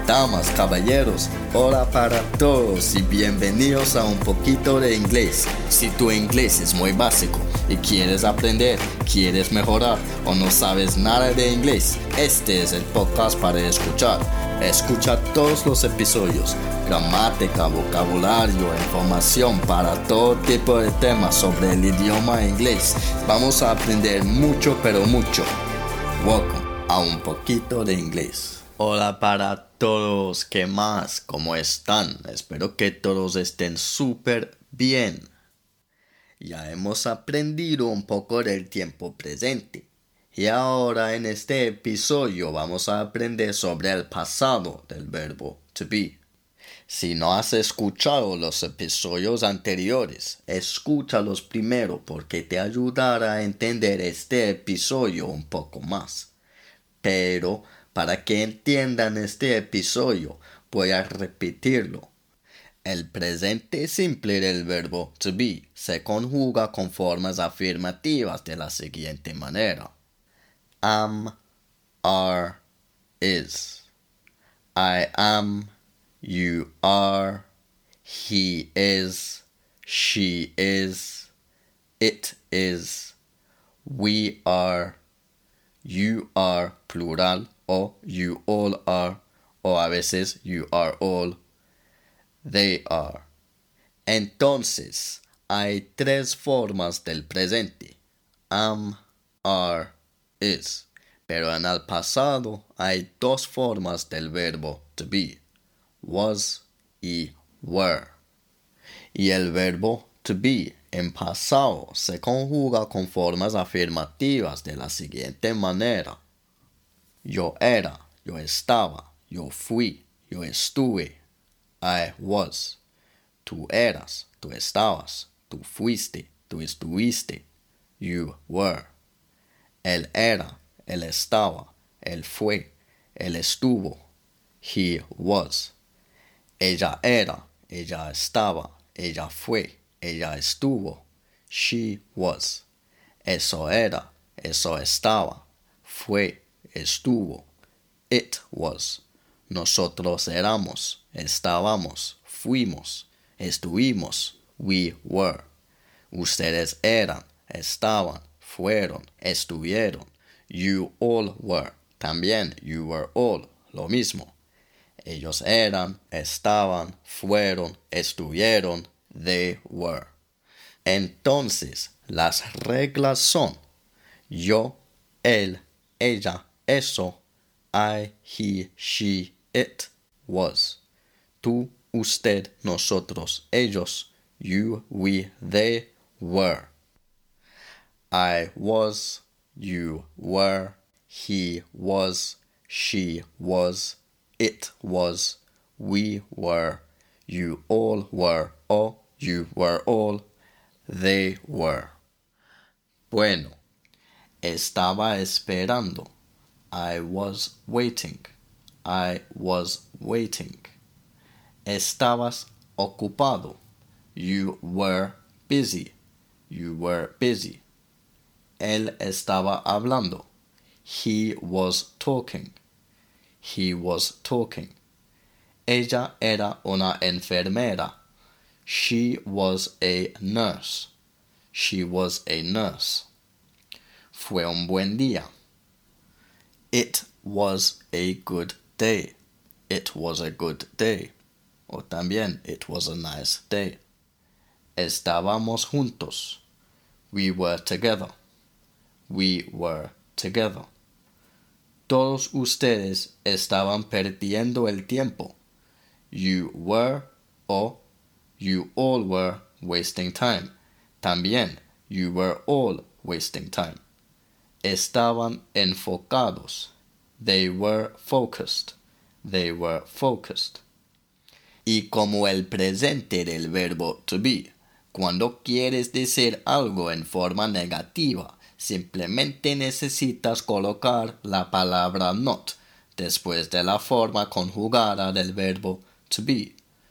Damas, caballeros, hola para todos y bienvenidos a Un Poquito de Inglés. Si tu inglés es muy básico y quieres aprender, quieres mejorar o no sabes nada de inglés, este es el podcast para escuchar. Escucha todos los episodios, gramática, vocabulario, información para todo tipo de temas sobre el idioma inglés. Vamos a aprender mucho, pero mucho. Welcome a Un Poquito de Inglés. Hola para todos, ¿qué más? ¿Cómo están? Espero que todos estén súper bien. Ya hemos aprendido un poco del tiempo presente. Y ahora en este episodio vamos a aprender sobre el pasado del verbo to be. Si no has escuchado los episodios anteriores, escúchalos primero porque te ayudará a entender este episodio un poco más. Pero para que entiendan este episodio, voy a repetirlo. El presente simple del verbo to be se conjuga con formas afirmativas de la siguiente manera. Am, are, is. I am, you are, he is, she is, it is, we are, you are, plural, o you all are, o a veces you are all, they are. Entonces, hay tres formas del presente. Am, are, is. Pero en el pasado hay dos formas del verbo to be. Was y were. Y el verbo to be en pasado se conjuga con formas afirmativas de la siguiente manera. Yo era, yo estaba, yo fui, yo estuve. I was. Tú eras, tú estabas, tú fuiste, tú estuviste. You were. Él era, él estaba, él fue, él estuvo. He was. Ella era, ella estaba, ella fue, ella estuvo. She was. Eso era, eso estaba, fue, estuvo. It was. Nosotros éramos, estábamos, fuimos, estuvimos. We were. Ustedes eran, estaban, fueron, estuvieron. You all were. También you were all. Lo mismo. Ellos eran, estaban, fueron, estuvieron. They were. Entonces, las reglas son yo, él, ella, eso, I, he, she, it, was. Tú, usted, nosotros, ellos, you, we, they, were. I was, you were, he was, she was, it was, we were, you all were, or you were all, they were. Bueno, estaba esperando. I was waiting. I was waiting. Estabas ocupado. You were busy. You were busy. Él estaba hablando. He was talking. He was talking. Ella era una enfermera. She was a nurse. She was a nurse. Fue un buen día. It was a good day. It was a good day. O también, it was a nice day. Estábamos juntos. We were together. We were together. Todos ustedes estaban perdiendo el tiempo. You were or you all were wasting time. También, you were all wasting time. Estaban enfocados. They were focused. They were focused. Y como el presente del verbo to be, cuando quieres decir algo en forma negativa, simplemente necesitas colocar la palabra not después de la forma conjugada del verbo to be.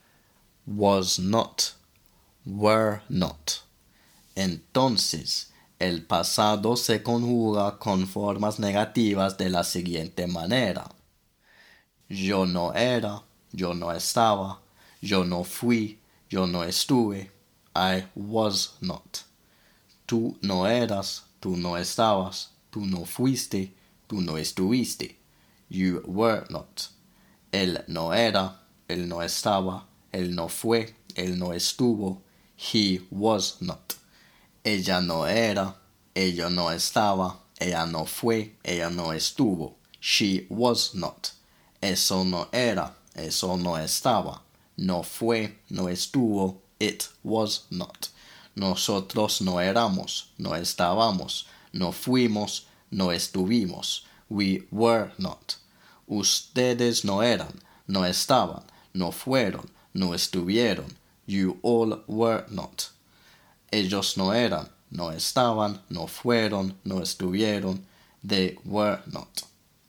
Was not. Were not. Entonces, el pasado se conjuga con formas negativas de la siguiente manera. Yo no era, yo no estaba, yo no fui, yo no estuve. I was not. Tú no eras, tú no estabas, tú no fuiste, tú no estuviste. You were not. Él no era, él no estaba, él no fue, él no estuvo. He was not. Ella no era, ella no estaba, ella no fue, ella no estuvo. She was not. Eso no era, eso no estaba, no fue, no estuvo. It was not. Nosotros no éramos, no estábamos, no fuimos, no estuvimos. We were not. Ustedes no eran, no estaban, no fueron, no estuvieron. You all were not. Ellos no eran, no estaban, no fueron, no estuvieron. They were not.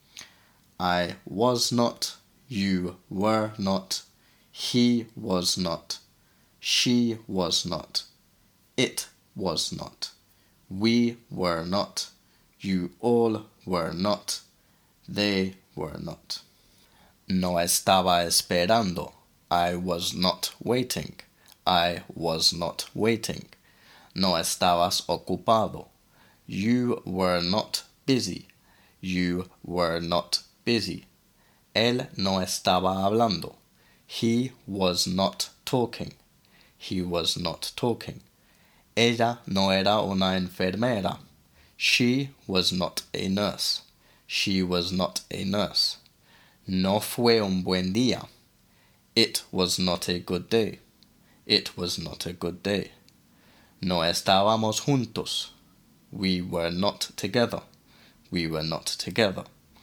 I was not, you were not, he was not, she was not, it was not, we were not, you all were not, they were not. No estaba esperando. I was not waiting. I was not waiting. No estabas ocupado. You were not busy. You were not busy. Él no estaba hablando. He was not talking. He was not talking. Ella no era una enfermera. She was not a nurse. She was not a nurse. No fue un buen día. It was not a good day. It was not a good day. No estábamos juntos. We were not together. We were not together.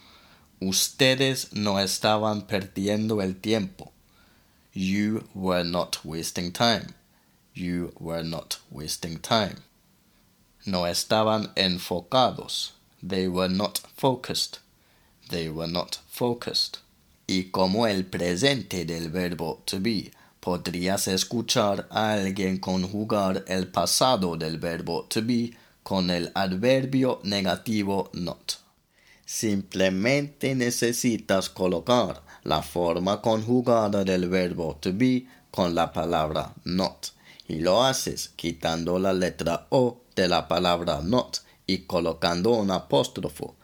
Ustedes no estaban perdiendo el tiempo. You were not wasting time. You were not wasting time. No estaban enfocados. They were not focused. They were not focused. Y como el presente del verbo to be, podrías escuchar a alguien conjugar el pasado del verbo to be con el adverbio negativo not. Simplemente necesitas colocar la forma conjugada del verbo to be con la palabra not. Y lo haces quitando la letra O de la palabra not y colocando un apóstrofo.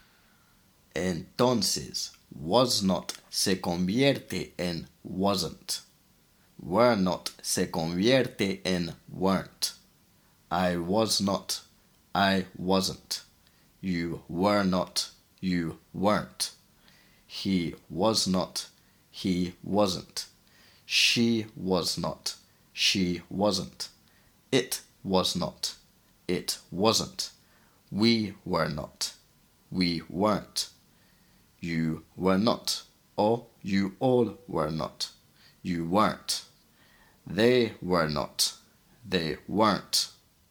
Entonces, was not se convierte en wasn't. Were not se convierte en weren't. I was not. I wasn't. You were not. You weren't. He was not. He wasn't. She was not. She wasn't. It was not. It wasn't. We were not. We weren't. You were not. Or you all were not. You weren't. They were not. They weren't.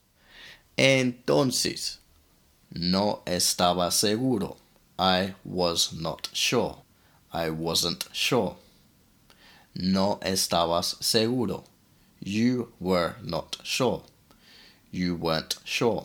Entonces, no estaba seguro. I was not sure. I wasn't sure. No estabas seguro. You were not sure. You weren't sure.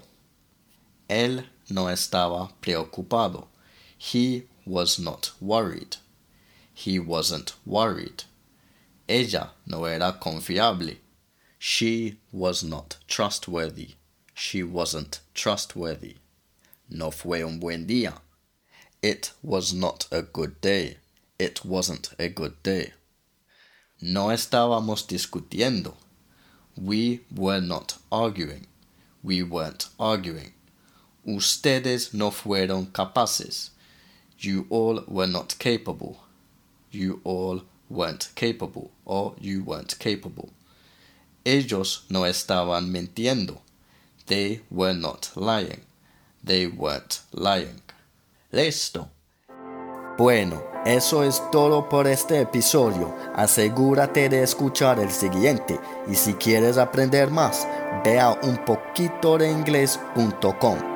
Él no estaba preocupado. He was not worried. He wasn't worried. Ella no era confiable. She was not trustworthy. She wasn't trustworthy. No fue un buen día. It was not a good day. It wasn't a good day. No estábamos discutiendo. We were not arguing. We weren't arguing. Ustedes no fueron capaces. You all were not capable. You all weren't capable, or you weren't capable. Ellos no estaban mintiendo. They were not lying. They weren't lying. Listo. Bueno, eso es todo por este episodio. Asegúrate de escuchar el siguiente y si quieres aprender más, ve a unpoquitodeingles.com.